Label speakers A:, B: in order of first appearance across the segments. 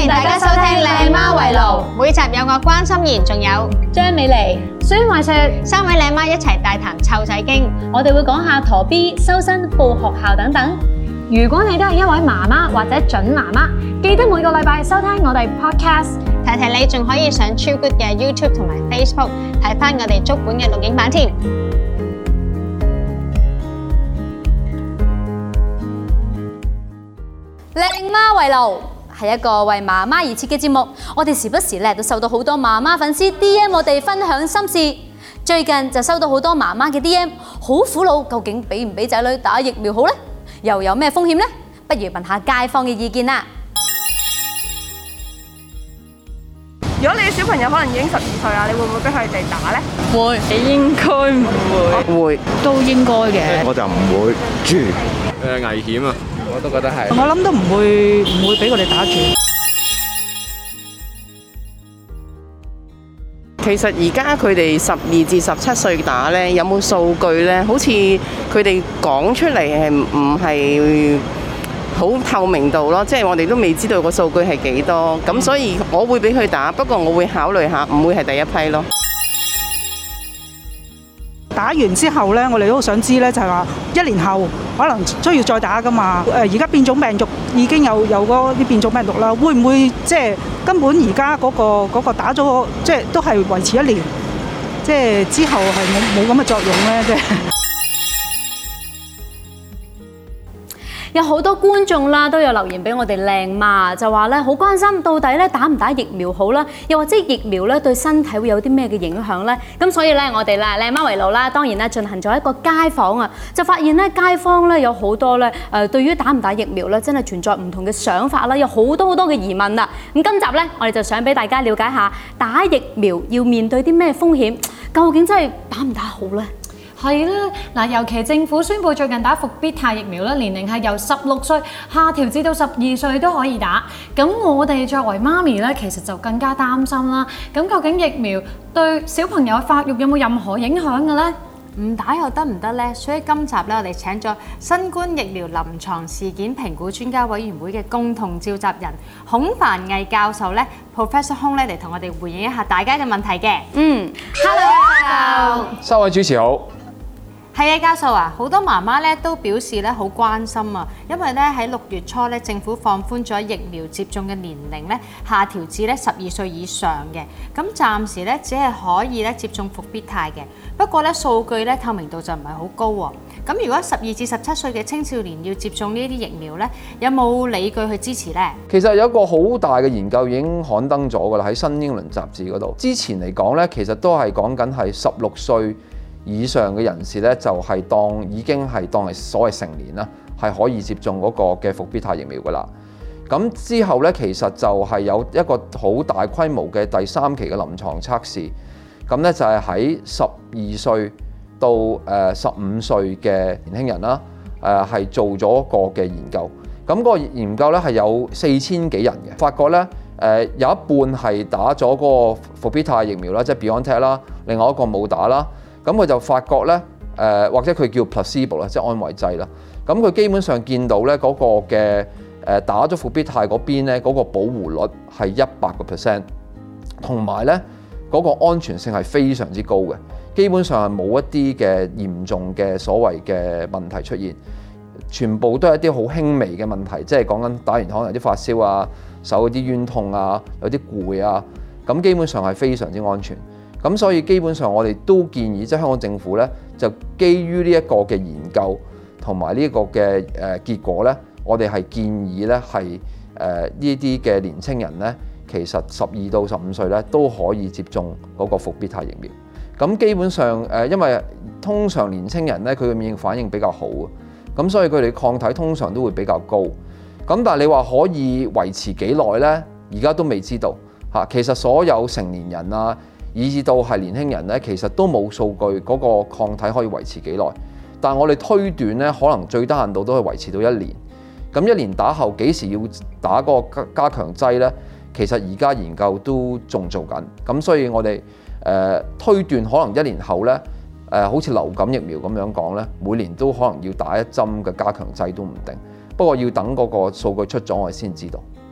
A: 迎大家收聽靚媽圍爐，每集有我關心妍，仲有
B: 張美妮、孫慧雪
A: 3位靚媽一齊大談湊仔經，
B: 我哋會講下陀 B、修身、報學校等等。如果你都係一位媽媽或者準媽媽，記得每個禮拜收聽我哋 podcast。
A: 提提你仲可以上超 good 嘅 YouTube 同埋 Facebook 睇返我哋足本嘅錄影版添。
B: 靚媽圍爐係一個為媽媽而設嘅節目，我哋時不時都收到好多媽媽粉絲 DM 我哋分享心事。最近就收到好多媽媽嘅 DM， 好苦惱，究竟俾唔俾仔女打疫苗好呢？又有咩風險呢？不如問下街坊嘅意見啦。
C: 如果你嘅小朋友可能已經12歲啦，你會唔會俾佢哋打呢？
D: 會，應該唔會，會都應該嘅。
E: 我就唔會住，
F: 危險啊！我都覺得係。
D: 我諗都唔會俾佢哋打住。
G: 其實而家佢哋12至17歲打呢，有冇數據呢？好似佢哋講出嚟係唔係好透明度咯？即係我哋都未知道個數據係幾多，咁所以我會俾佢打，不過我會考慮下，唔會係第一批咯。
D: 打完之後呢，我哋都想知呢，就係話1年後可能需要再打㗎嘛。而家變種病毒已經有嗰啲變種病毒啦，會唔會即係根本而家嗰個打咗即係都係維持1年，即係之後係冇咁嘅作用呢？即係。
B: 有好多觀眾啦，都有留言俾我哋靚媽，就話咧好關心到底咧打唔打疫苗好啦，又或者疫苗咧對身體會有啲咩嘅影響咧？咁所以咧我哋啦靚媽圍爐啦，當然啦進行咗一個街訪啊，就發現咧街坊咧有好多咧對於打唔打疫苗咧真係存在唔同嘅想法啦，有好多嘅疑問啦。咁今集咧我哋就想俾大家了解下打疫苗要面對啲咩風險，究竟真係打唔打好咧？
H: 係啦，嗱，尤其政府宣布最近打復必泰疫苗咧，年齡係由16歲下調至到12歲都可以打。咁我哋作為媽咪咧，其實就更加擔心啦。咁究竟疫苗對小朋友發育有冇任何影響嘅咧？
I: 唔打又得唔得呢？所以今集咧，我哋請咗新冠疫苗臨床事件評估專家委員會嘅共同召集人孔繁毅教授咧 ，Professor 孔咧嚟同我哋回應一下大家嘅問題嘅。 Hello，
F: 3位主持好。
I: 係啊，教授啊，好多媽媽咧都表示咧好關心啊，因為咧喺6月初咧政府放寬咗疫苗接種嘅年齡咧下調至咧12歲以上嘅，咁暫時咧只係可以咧接種復必泰嘅，不過咧數據咧透明度就唔係好高喎。咁如果12至17歲嘅青少年要接種呢啲疫苗咧，有冇理據去支持呢？
F: 其實有一個好大嘅研究已經刊登咗㗎啦，喺新英倫雜誌嗰度。之前嚟講咧，其實都係講緊係16歲以上嘅人士咧，就係已經係當係所謂成年啦，係可以接種嗰個嘅復必泰疫苗㗎啦。咁之後咧，其實就係有一個好大規模嘅第3期嘅臨床測試。咁咧就係喺12歲到15歲嘅年輕人啦，係做咗一個嘅研究。咁個研究咧係有4000幾人嘅，發覺咧有一半係打咗嗰個復必泰疫苗啦，即係 BioNTech 啦，另外一個冇打啦。咁佢就發覺咧，或者佢叫 placebo 啦，即係安慰劑啦。咁佢基本上見到咧嗰個嘅打咗復必泰嗰邊咧，嗰個保護率係100%，同埋咧嗰個安全性係非常之高嘅，基本上係冇一啲嘅嚴重嘅所謂嘅問題出現，全部都係一啲好輕微嘅問題，即係講緊打完可能有啲發燒啊、手有啲冤痛啊、有啲攰啊，咁基本上係非常之安全。咁所以基本上我哋都建議，即係香港政府咧，就基於呢一個嘅研究同埋呢一個嘅結果咧，我哋係建議咧係呢啲嘅年青人咧，其實12到15歲咧都可以接種嗰個復必泰疫苗。咁基本上因為通常年青人咧佢嘅免疫反應比較好啊，咁所以佢哋抗體通常都會比較高。咁但係你話可以維持幾耐咧？而家都未知道嚇。其實所有成年人啊，以至到係年輕人咧，其實都冇數據嗰個抗體可以維持幾耐。但係我哋推斷咧，可能最低限度都係維持到1年。咁1年打後幾時要打嗰個加強劑咧？其實而家研究都仲做緊。咁所以我哋推斷可能1年後咧，好似流感疫苗咁樣講咧，每年都可能要打1針嘅加強劑都唔定。不過要等嗰個數據出咗，我哋先知道。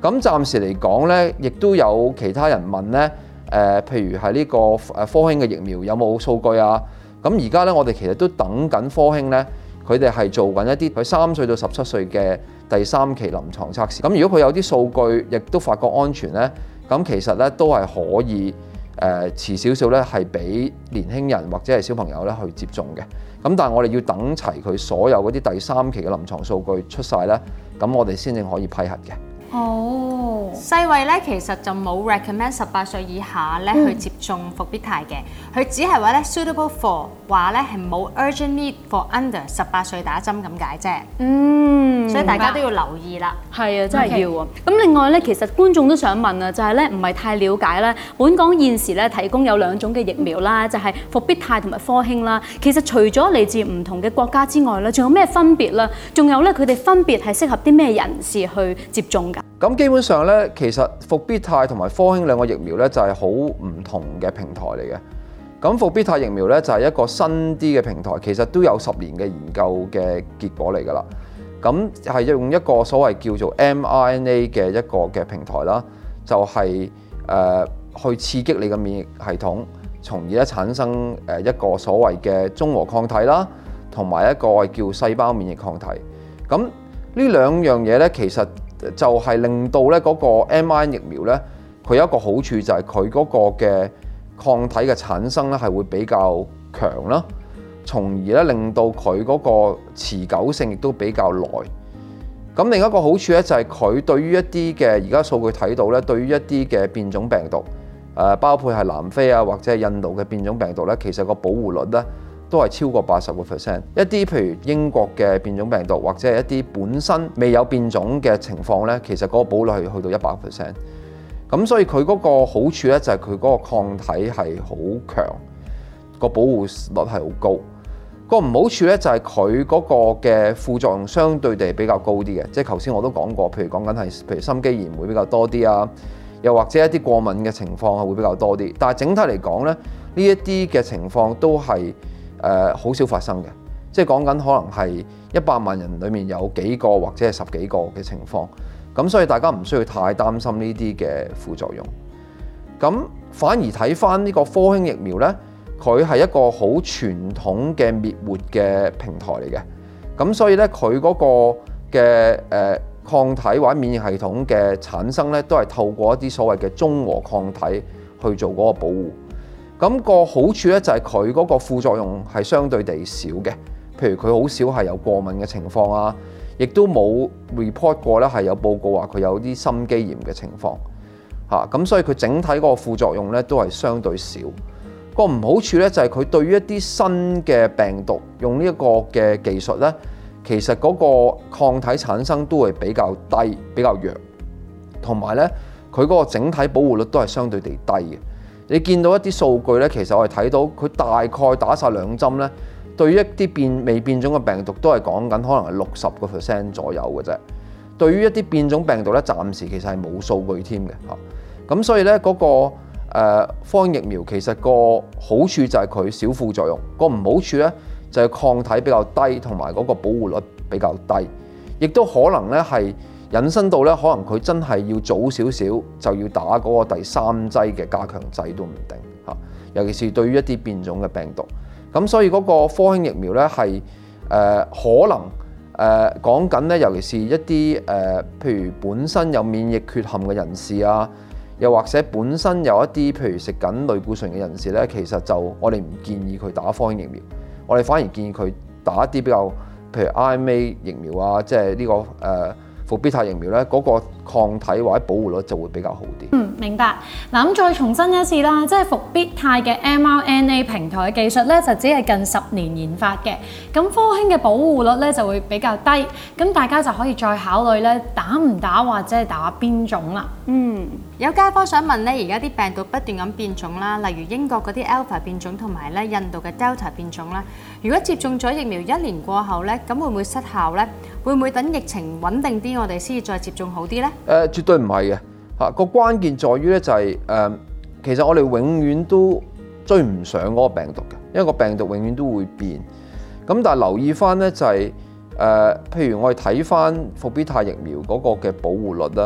F: 咁暫時嚟講呢，亦都有其他人問呢，譬如係呢個科興嘅疫苗有冇數據啊？咁而家呢，我哋其實都等緊科興呢，佢哋係做緊一啲佢3歲到17歲嘅第3期臨床測試。咁如果佢有啲數據，亦都發覺安全呢，咁其實呢都係可以遲少少呢，係俾年輕人或者係小朋友呢去接種嘅。咁但係我哋要等齊佢所有嗰啲第3期嘅臨床數據出晒呢，咁我哋先至可以批核嘅。
I: 哦，世衛咧其實就冇 recommend 18歲以下咧去接種復必泰嘅，佢只係話咧 suitable for 話咧係冇 urgent need for under 18歲打針咁解啫。所以大家都要留意啦。
B: 係啊，真係要啊。咁另外咧，其實觀眾都想問啊，就係咧唔係太了解咧，本港現時咧提供有2種嘅疫苗啦，就係復必泰同埋科興啦。其實除咗嚟自唔同嘅國家之外咧，仲有咩分別啦？仲有咧，佢哋分別係適合啲咩人士去接種㗎？
F: 咁基本上咧，其實復必泰同埋科興兩個疫苗咧就係好唔同嘅平台嚟嘅。咁復必泰疫苗咧就係一個新啲嘅平台，其實都有10年嘅研究嘅結果嚟㗎啦。咁係用一個所謂叫做 mRNA 嘅一個嘅平台啦，就係去刺激你嘅免疫系統，從而咧產生一個所謂嘅中和抗體啦，同埋一個叫細胞免疫抗體。咁呢兩樣嘢咧，其實就係令到咧嗰個 mRNA 疫苗咧，佢有一個好處就係佢嗰個嘅抗體嘅產生咧係會比較強啦，從而咧令到佢嗰個持久性亦都比較耐。咁另一個好處咧就係佢對於一啲嘅而家數據睇到咧，對於一啲嘅變種病毒，包括係南非啊或者係印度嘅變種病毒咧，其實個保護率咧都係超過80%。一啲譬如英國嘅變種病毒或者係一啲本身未有變種嘅情況咧，其實嗰個保護率係去到100%。咁所以佢嗰個好處咧就係佢嗰個抗體係好強，個保護率係好高。個唔好處咧就係佢嗰個嘅副作用相對地比較高啲嘅，即係頭先我都講過，譬如講緊係譬如心肌炎會比較多啲啊，又或者一啲過敏嘅情況係會比較多啲。但係整體嚟講咧，呢一啲嘅情況都係好少發生嘅，即係講緊可能係100萬人裡面有幾個或者係10幾個嘅情況。咁所以大家唔需要太擔心呢啲嘅副作用。咁反而睇返呢個科興疫苗咧，佢係一個好傳統嘅滅活嘅平台嚟嘅。咁所以咧，佢嗰個嘅抗體或者免疫系統嘅產生咧，都係透過一啲所謂嘅中和抗體去做嗰個保護。咁個好處咧就係佢嗰個副作用係相對地少嘅，譬如佢好少係有過敏嘅情況啊。亦都冇 report 過咧，係有報告話佢有啲心肌炎嘅情況嚇，咁所以佢整體嗰個副作用咧都係相對少。個唔好處咧就係佢對於一啲新嘅病毒用呢一個嘅技術咧，其實嗰個抗體產生都會比較低、比較弱，同埋咧佢嗰個整體保護率都係相對地低嘅。你見到一啲數據咧，其實我哋睇到佢大概打晒2針咧。對於一啲未變種嘅病毒都係講緊可能係60% 左右嘅啫。對於一啲變種病毒咧，暫時其實係冇數據添嘅嚇。咁所以咧嗰個科興疫苗其實個好處就係佢少副作用，個唔好處咧就係抗體比較低，同埋嗰個保護率比較低，亦都可能咧係引申到咧可能佢真係要早少少就要打嗰個第3劑嘅加強劑都唔定嚇。尤其是對於一啲變種嘅病毒。咁所以嗰個科興疫苗咧係可能講緊咧，尤其是一啲譬如本身有免疫缺陷嘅人士啊，又或者本身有一啲譬如食緊類固醇嘅人士咧，其實就我哋唔建議佢打科興疫苗，我哋反而建議佢打一啲比較譬如 RNA 疫苗啊，即係呢個復必泰疫苗咧，嗰個抗體或者保護率就會比較好啲。
H: 明白。嗱咁再重申一次啦，即係復必泰嘅 mRNA 平台嘅技術咧，就只係近10年研發嘅。咁科興嘅保護率咧就會比較低，咁大家就可以再考慮咧打唔打或者係打邊種啦。
I: 有街坊想問咧，而家啲病毒不斷咁變種啦，例如英國嗰啲 Alpha 變種同埋咧印度嘅 Delta 變種啦。如果接種咗疫苗1年過後咧，咁會唔會失效咧？會唔會等疫情穩定啲，我哋先至再接種好啲咧？
F: 絕對唔係嘅嚇。個關鍵在於咧就係其實我哋永遠都追唔上嗰個病毒嘅，因為個病毒永遠都會變。咁但係留意翻咧就係譬如我哋睇翻復必泰疫苗嗰個嘅保護率啦。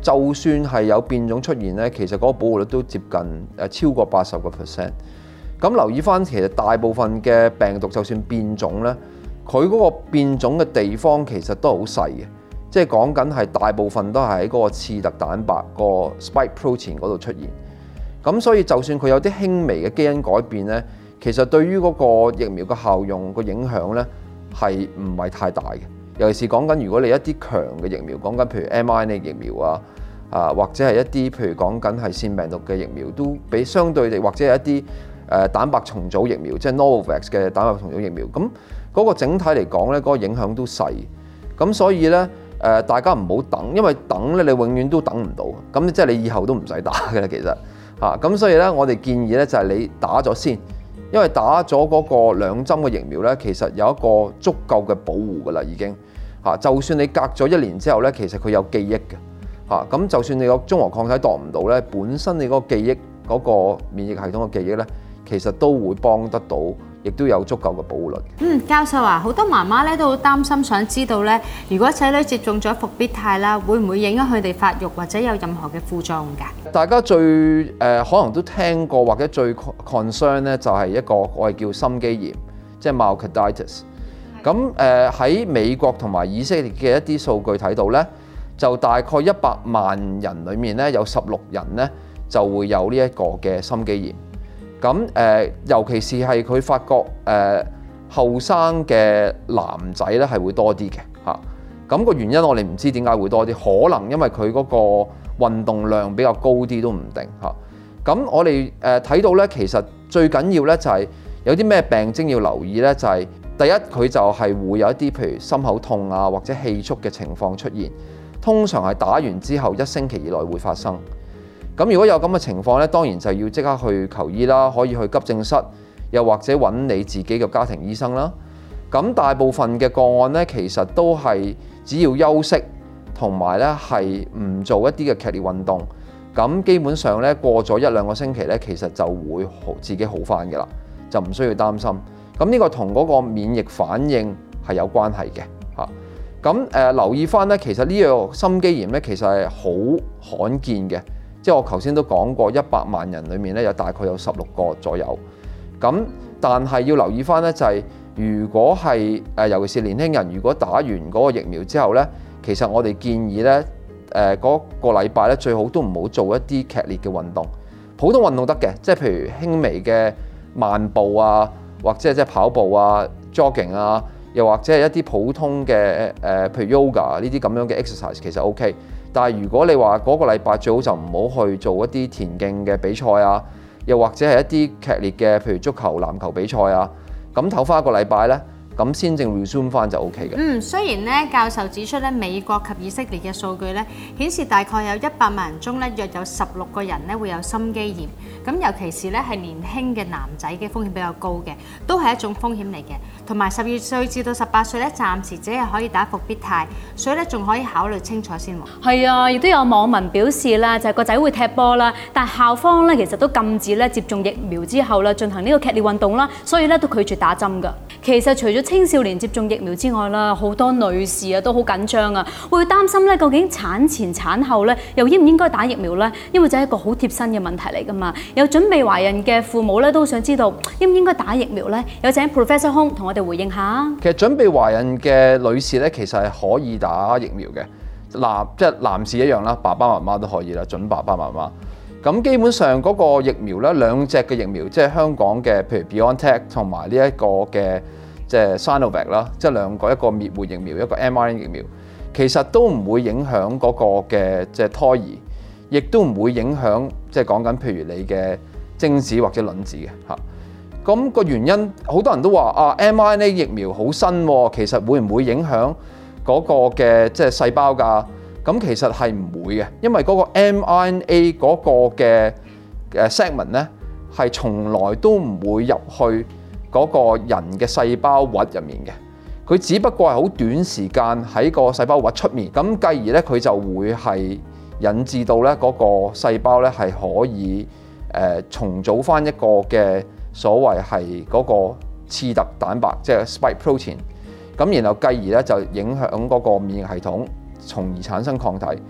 F: 就算係有變種出現咧，其實嗰個保護率都接近超過80%。咁留意翻，其實大部分嘅病毒就算變種咧，佢嗰個變種嘅地方其實都係好細嘅，即係講緊係大部分都係喺嗰個刺突蛋白個 spike protein 嗰度出現。咁所以就算佢有啲輕微嘅基因改變咧，其實對於嗰個疫苗嘅效用個影響咧係唔係太大嘅。尤其是講緊如果你一啲強嘅疫苗，講緊譬如 mRNA 疫苗或者係一啲譬如講緊係腺病毒嘅疫苗，都比相對地或者係一啲蛋白重組疫苗，即係 Novavax 嘅蛋白重組疫苗，咁嗰個整體嚟講咧，嗰個影響都細。咁所以咧大家唔好等，因為等咧你永遠都等唔到，咁即係你以後都唔使打嘅啦，其實咁所以咧我哋建議咧就係你打咗先。因為打咗嗰個2針嘅疫苗咧，其實有一個足夠嘅保護㗎啦，已經就算你隔咗1年之後咧，其實佢有記憶嘅咁就算你個中和抗體度唔到咧，本身你嗰個記憶嗰個免疫系統嘅記憶咧，其實都會幫得到，亦都有足夠嘅保護率。
I: 教授啊，好多媽媽咧都好擔心，想知道咧，如果仔女接種咗復必泰啦，會唔會影響佢哋發育或者有任何嘅副作用㗎？
F: 大家最可能都聽過或者最 concern 咧，就係一個我哋叫心肌炎，即係 myocarditis。咁喺美國同埋以色列嘅一啲數據睇到咧，就大概100萬人裡面咧有16人咧就會有呢一個嘅心肌炎。咁尤其是係佢發覺後生嘅男仔咧係會多啲嘅嚇。咁個原因我哋唔知點解會多啲，可能因為佢嗰個運動量比較高啲都唔定嚇。咁我哋睇到咧，其實最緊要咧就係有啲咩病徵要留意咧，就係第一佢就係會有一啲譬如心口痛啊或者氣促嘅情況出現，通常係打完之後1星期以內會發生。咁如果有咁嘅情況咧，當然就要即刻去求醫啦，可以去急症室，又或者揾你自己嘅家庭醫生啦。咁大部分嘅個案咧，其實都係只要休息同埋咧係唔做一啲嘅劇烈運動，咁基本上咧過咗1-2個星期咧，其實就會自己好返嘅啦，就唔需要擔心。咁呢個同嗰個免疫反應係有關係嘅嚇。咁留意返咧，其實呢個心肌炎咧其實係好罕見嘅。即係我頭先都講過，100萬人裡面咧有大概有16個左右。咁但係要留意翻咧，就係如果係尤其是年輕人，如果打完嗰個疫苗之後咧，其實我哋建議咧嗰個禮拜咧最好都唔好做一啲劇烈嘅運動，普通運動得嘅，即係譬如輕微嘅慢步啊，或者即係跑步啊、jogging 啊，又或者係一啲普通嘅譬如 yoga 呢啲咁樣嘅 exercise 其實 OK。但係如果你話嗰個禮拜最好就唔好去做一啲田徑嘅比賽啊，又或者係一啲劇烈嘅譬如足球、籃球比賽啊，咁唞翻一個禮拜咧，咁先正 resume 翻就 OK 嘅。
I: 雖然咧教授指出咧，美國及以色列嘅數據咧顯示大概有100萬人中咧，約有16個人咧會有心肌炎。咁尤其是咧係年輕嘅男仔嘅風險比較高嘅，都係一種風險嚟嘅。同埋12歲至到18歲咧，暫時只係可以打復必泰，所以咧仲可以考慮清楚先喎。
B: 係啊，亦都有網民表示啦，就係個仔會踢波啦，但係校方咧其實都禁止咧接種疫苗之後啦進行呢個劇烈運動啦，所以咧都拒絕打針㗎。其實除咗青少年接種疫苗之外啦，好多女士啊都好緊張啊，會擔心咧究竟產前產後咧又應唔應該打疫苗咧？因為就係一個好貼身嘅問題嚟㗎嘛。有準備懷孕嘅父母咧都想知道應唔應該打疫苗咧？有請 Professor Hong 同我哋回應下。
F: 其實準備懷孕嘅女士咧，其實係可以打疫苗嘅。即係男士一樣啦，爸爸媽媽都可以啦，準爸爸媽媽。咁基本上嗰個疫苗咧，兩隻嘅疫苗，即係香港嘅，譬如 BioNTech 同埋呢一個嘅即係 Sinovac 啦，即係兩個，一個滅活疫苗，一個 mRNA 疫苗，其實都唔會影響嗰個嘅即係胎兒，亦都唔會影響即係講緊譬如你嘅精子或者卵子嘅嚇。咁個原因好多人都話mRNA 疫苗好新喎，其實會唔會影響嗰個嘅即係細胞㗎？咁其實係唔會嘅，因為嗰個 mRNA 嗰個嘅segment 咧係從來都唔會入去嗰個人嘅細胞核入面嘅，佢只不過係好短時間喺個細胞核出面，咁繼而咧佢就會係引致到咧嗰個細胞咧係可以重組翻一個嘅所謂係嗰個刺突蛋白，即係 spike protein， 咁然後繼而咧就影響嗰個免疫系統，從而產生抗體。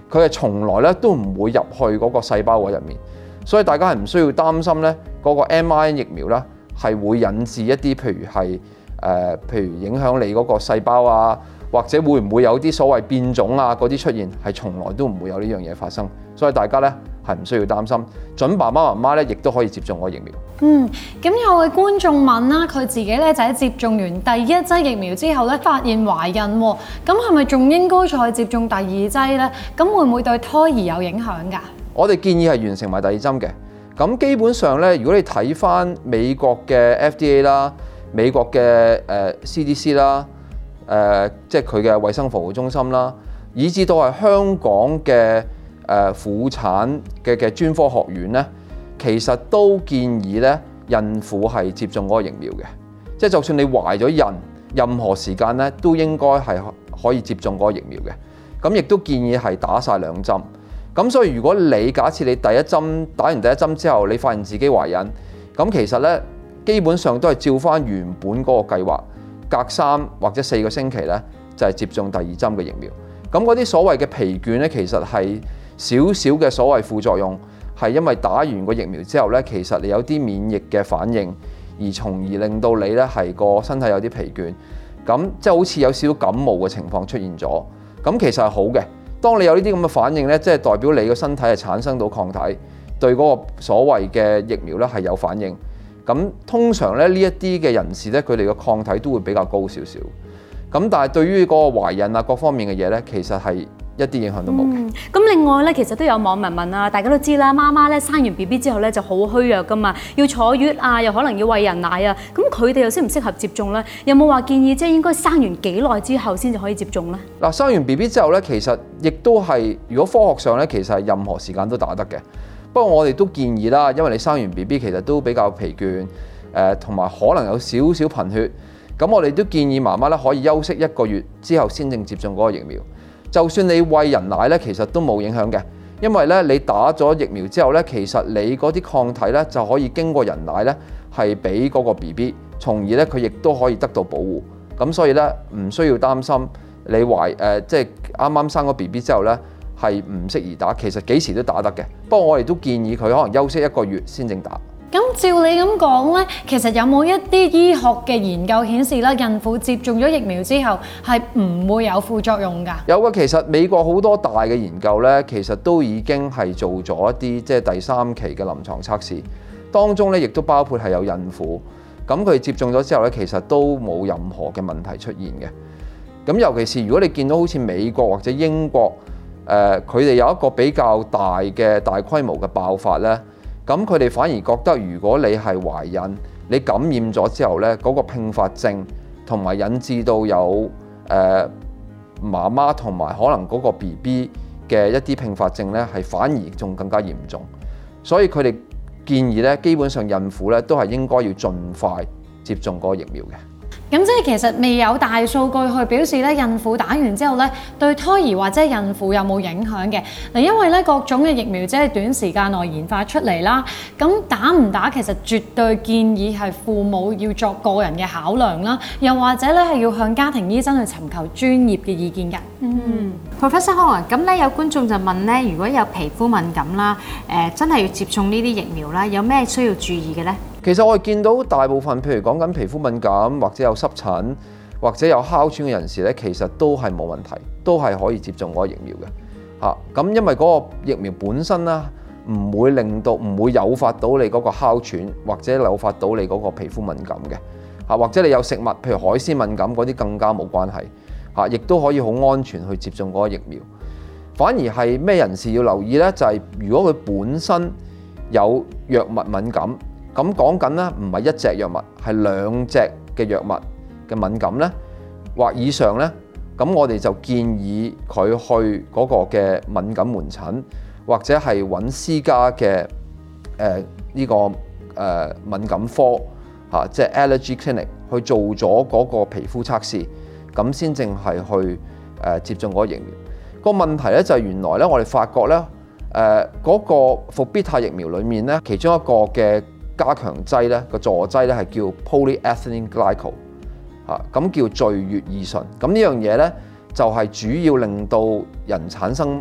F: 佢係從來咧都唔會入去嗰個細胞核入面，所以大家係唔需要擔心咧嗰個 mRNA 疫苗咧係會引致一啲譬如影響你嗰個細胞啊，或者會唔會有啲所謂變種啊嗰啲出現，係從來都唔會有呢樣嘢發生，所以大家咧係唔需要擔心，準爸爸媽媽咧亦都可以接種個疫苗。
H: 咁有位觀眾問啦，佢自己咧就喺接種完第一劑疫苗之後咧，發現懷孕喎，咁係咪仲應該再接種第二劑咧？咁會唔會對胎兒有影響㗎？
F: 我哋建議係完成埋第二針嘅。咁基本上咧，如果你睇翻美國嘅 FDA 啦、美國嘅CDC 啦、即係佢嘅衛生服務中心啦，以至到係香港嘅婦產嘅專科學院咧，其實都建議咧孕婦係接種嗰個疫苗嘅，即係就算你懷咗孕，任何時間咧都應該係可以接種嗰個疫苗嘅。咁亦都建議係打晒2針。咁所以如果你假設你第一針打完第一針之後，你發現自己懷孕，咁其實咧基本上都係照翻原本嗰個計劃，隔3或者4個星期咧就係接種第二針嘅疫苗。咁嗰啲所謂嘅疲倦咧，其實係少少嘅所謂副作用，係因為打完個疫苗之後咧，其實你有啲免疫嘅反應，而從而令到你咧係個身體有啲疲倦，咁即係好似有少少感冒嘅情況出現咗。咁其實係好嘅。當你有呢啲咁嘅反應咧，即係代表你個身體係產生到抗體，對嗰個所謂嘅疫苗咧係有反應。咁通常咧呢一啲嘅人士咧，佢哋嘅抗體都會比較高少少。咁但係對於嗰個懷孕啊各方面嘅嘢咧，其實係一啲影響都冇嘅。
B: 咁另外咧，其實都有網民問啊，大家都知啦，媽媽咧生完 BB 之後咧就好虛弱噶嘛，要坐月啊，又可能要餵人奶啊，咁佢哋又適唔適合接種咧？有冇話建議即係應該生完幾耐之後先至可以接種咧？
F: 嗱，生完 BB 之後咧，其實亦都係如果科學上咧，其實係任何時間都打得嘅。不過我哋都建議啦，因為你生完 BB 其實都比較疲倦，同埋可能有少少貧血，咁我哋都建議媽媽咧可以休息1個月之後先正接種嗰個疫苗。就算你餵人奶咧，其實都冇影響嘅，因為咧你打咗疫苗之後咧，其實你嗰啲抗體咧就可以經過人奶咧係俾嗰個 BB， 從而咧佢亦都可以得到保護。咁所以咧唔需要擔心你即係啱啱生咗 BB 之後咧係唔適宜打，其實幾時都打得嘅。不過我哋都建議佢可能休息1個月先正打。
H: 咁照你咁講咧，其實有冇一啲醫學嘅研究顯示咧，孕婦接種咗疫苗之後係唔會有副作用㗎？
F: 有嘅，其實美國好多大嘅研究咧，其實都已經係做咗一啲即係第3期嘅臨床測試，當中咧亦都包括係有孕婦，咁佢接種咗之後咧，其實都冇任何嘅問題出現嘅。咁尤其是如果你見到好似美國或者英國，佢哋有一個比較大規模嘅爆發咧。咁佢哋反而覺得，如果你係懷孕，你感染咗之後咧，嗰個併發症同埋引致到有媽媽同埋可能嗰個 BB 嘅一啲併發症咧，係反而仲更加嚴重。所以佢哋建議咧，基本上孕婦咧都係應該要盡快接種嗰個疫苗嘅。
H: 咁即係其實未有大數據去表示咧，孕婦打完之後咧，對胎兒或者孕婦有冇影響嘅？嗱，因為咧各種嘅疫苗即係短時間內研發出嚟啦，咁打唔打其實絕對建議係父母要作個人嘅考量啦，又或者咧係要向家庭醫生去尋求專業嘅意見嘅。
I: Professor Hong，咁咧有觀眾就問咧，如果有皮膚敏感啦，真係要接種呢啲疫苗啦，有咩需要注意嘅咧？
F: 其實我哋見到大部分，譬如講緊皮膚敏感或者有濕疹或者有哮喘嘅人士咧，其實都係冇問題，都係可以接種嗰個疫苗嘅。咁因為嗰個疫苗本身啦，唔會誘發到你嗰個哮喘，或者誘發到你嗰個皮膚敏感嘅。或者你有食物，譬如海鮮敏感嗰啲更加冇關係。亦都可以好安全去接種嗰個疫苗。反而係咩人士要留意咧？就係如果佢本身有藥物敏感。咁講緊咧，唔係1隻藥物，係2隻嘅藥物嘅敏感咧，或以上咧，咁我哋就建議佢去嗰個嘅敏感門診，或者係揾私家嘅呢個敏感科即係 allergy clinic 去做咗嗰個皮膚測試，咁先正係去接種嗰個疫苗。個問題咧就係原來咧，我哋發覺咧，嗰個復必泰疫苗裡面咧，其中一個嘅加強劑咧，個助劑咧係叫 polyethylene glycol 咁叫聚乙二醇。咁呢樣嘢咧就係主要令到人產生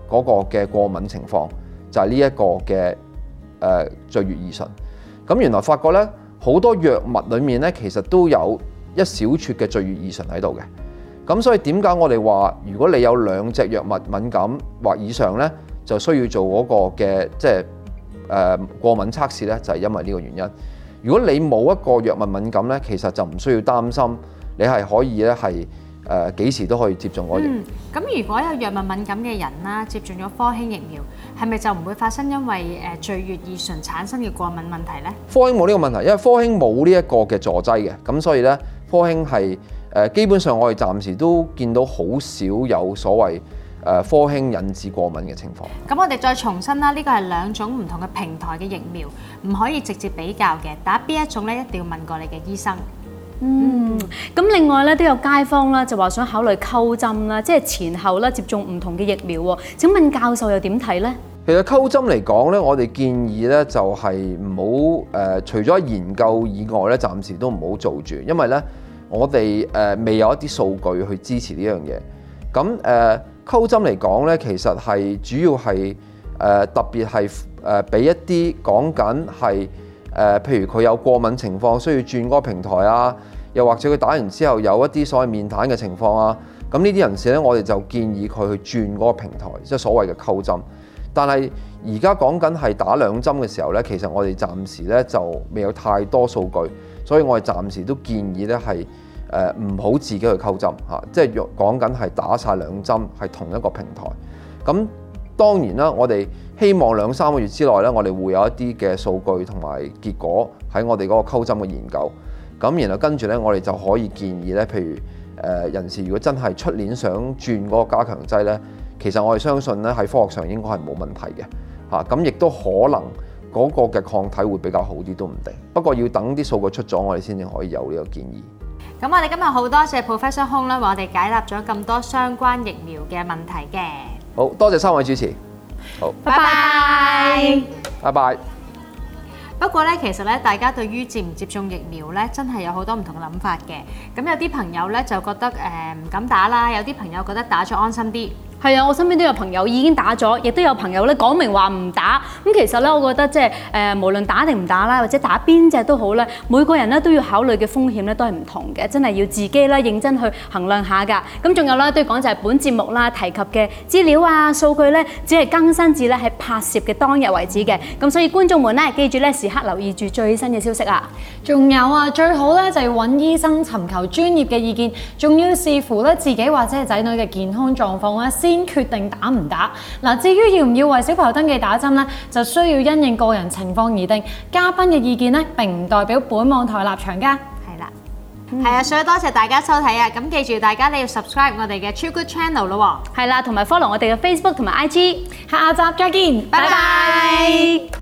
F: 嗰個嘅過敏情況，就係呢一個嘅聚乙二醇。咁原來發覺咧，好多藥物裡面咧，其實都有一小撮嘅聚乙二醇喺度嘅。咁所以點解我哋話，如果你有2隻藥物敏感或以上咧，就需要做嗰個嘅即係過敏測試咧，就係因為呢個原因。如果你冇一個藥物敏感咧，其實就唔需要擔心，你係可以咧係幾時都可以接種嗰個疫苗。
I: 咁如果有藥物敏感嘅人啦，接種咗科興疫苗，係咪就唔會發生因為聚乙二醇產生嘅過敏問題呢？
F: 科興冇呢個問題，因為科興冇呢一個嘅助劑嘅，咁所以咧科興係基本上我哋暫時都見到好少有所謂科興引致過敏嘅情況。
I: 咁我哋再重申啦，呢個係2種唔同嘅平台嘅疫苗，唔可以直接比較嘅。打邊一種咧，一定要問過你嘅醫生。
B: 咁另外咧都有街坊啦，就話想考慮溝針啦，即係前後咧接種唔同嘅疫苗喎。請問教授又點睇呢？
F: 其實溝針嚟講咧，我哋建議咧就係唔好除咗研究以外咧，暫時都唔好做住，因為咧我哋未有一啲數據去支持呢樣嘢。咁溝針嚟講咧，其實係主要係特別係俾一啲講緊係譬如佢有過敏情況，需要轉嗰個平台啊，又或者佢打完之後有一啲所謂面癱嘅情況啊，咁呢啲人士咧，我哋就建議佢去轉嗰個平台，即係所謂嘅溝針。但係而家講緊係打2針嘅時候咧，其實我哋暫時咧就未有太多數據，所以我哋暫時都建議咧係唔好自己去溝針嚇，即係講緊係打晒2針係同一個平台。咁當然啦，我哋希望2-3個月之內咧，我哋會有一啲嘅數據同埋結果喺我哋嗰個溝針嘅研究。咁然後跟住咧，我哋就可以建議咧，譬如人士如果真係出年想轉嗰個加強劑咧，其實我哋相信咧喺科學上應該係冇問題嘅嚇。咁亦都可能嗰個嘅抗體會比較好啲都唔定。不過要等啲數據出咗，我哋先至可以有呢個建議。
I: 咁我哋今日好多謝 Professor Hong 啦，為我哋解答咗咁多相關疫苗嘅問題嘅。
F: 好多謝3位主持。好，
I: 拜拜。
F: 拜拜。
I: 不過咧，其實咧，大家對於接唔接種疫苗咧，真係有好多唔同嘅諗法嘅。咁有啲朋友咧就覺得唔敢打啦，有啲朋友覺得打咗安心啲。
B: 係啊，我身邊都有朋友已經打咗，亦都有朋友咧講明話唔打。咁其實咧，我覺得即係無論打定唔打啦，或者打邊隻都好咧，每個人咧都要考慮嘅風險咧都係唔同嘅，真係要自己咧認真去衡量下㗎。咁仲有啦，都要講就係本節目啦提及嘅資料啊數據咧，只係更新至咧喺拍攝嘅當日為止嘅。咁所以觀眾們咧，記住咧時刻留意住最新嘅消息啊！
H: 仲有啊，最好咧就要揾醫生尋求專業嘅意見，仲要視乎咧自己或者係仔女嘅健康狀況啦，先決定打唔打。嗱，至於要唔要為小朋友登記打針咧，就需要因應個人情況而定。嘉賓嘅意見咧並唔代表本網台立場㗎。
I: 係啦，係啊，所以多謝大家收睇啊！咁記住大家你要 subscribe 我哋嘅超 good channel 咯喎。
B: 係啦，同埋 follow 我哋嘅 Facebook 同埋 IG。
H: 下集再見，拜拜。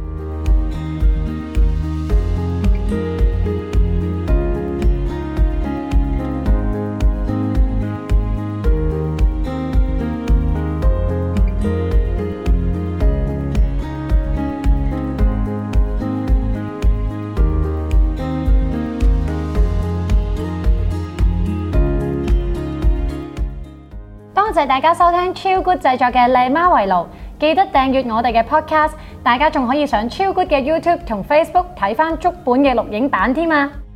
H: 多謝大家收聽超 good 製作嘅麗媽圍爐，記得訂閱我哋嘅 podcast，大家仲可以上超 good 嘅 YouTube 同 Facebook 睇返足本嘅錄影版添啊！